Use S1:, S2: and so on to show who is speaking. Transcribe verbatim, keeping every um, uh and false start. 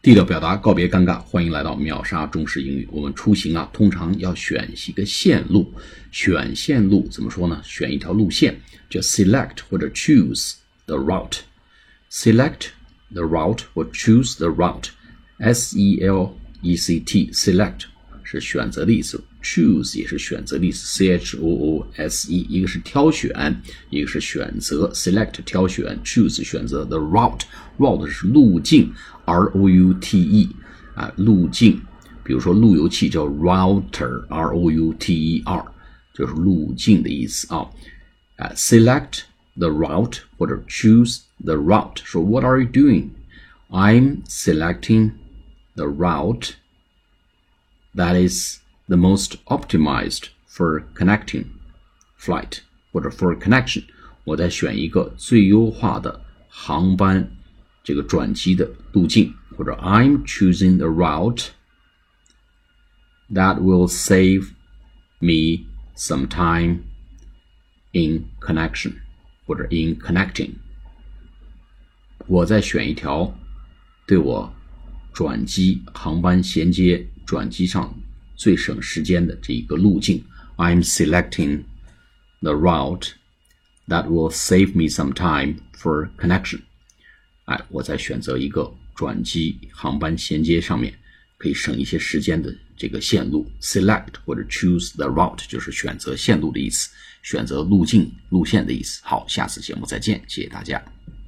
S1: 地道表达，告别尴尬，欢迎来到秒杀中式英语。我们出行啊，通常要选一个线路，选线路怎么说呢？选一条路线，叫 select 或者 choose the route。select the route 或 choose the route。S E L E C T select 是选择的意思， choose 也是选择的意思， C H O O S E 一个是挑选，一个是选择。 select 挑选， choose 选择， the route route 是路径， R O U T E 啊，路径，比如说路由器叫 router R O U T E R 就是路径的意思啊。啊 select the route 或者 choose the route。 说 What are you doing? I'm selecting the route that is the most optimized for connecting flight 或者 for connection。 我在选一个最优化的航班这个转机的路径，或者 I'm choosing the route that will save me some time in connection 或者 in connecting。 我在选一条对我转机航班衔接转机上最省时间的这一个路径。 I'm selecting the route that will save me some time for connection。 哎，我在选择一个转机航班衔接上面可以省一些时间的这个线路。 select 或者 choose the route 就是选择线路的意思，选择路径路线的意思。好，下次节目再见，谢谢大家。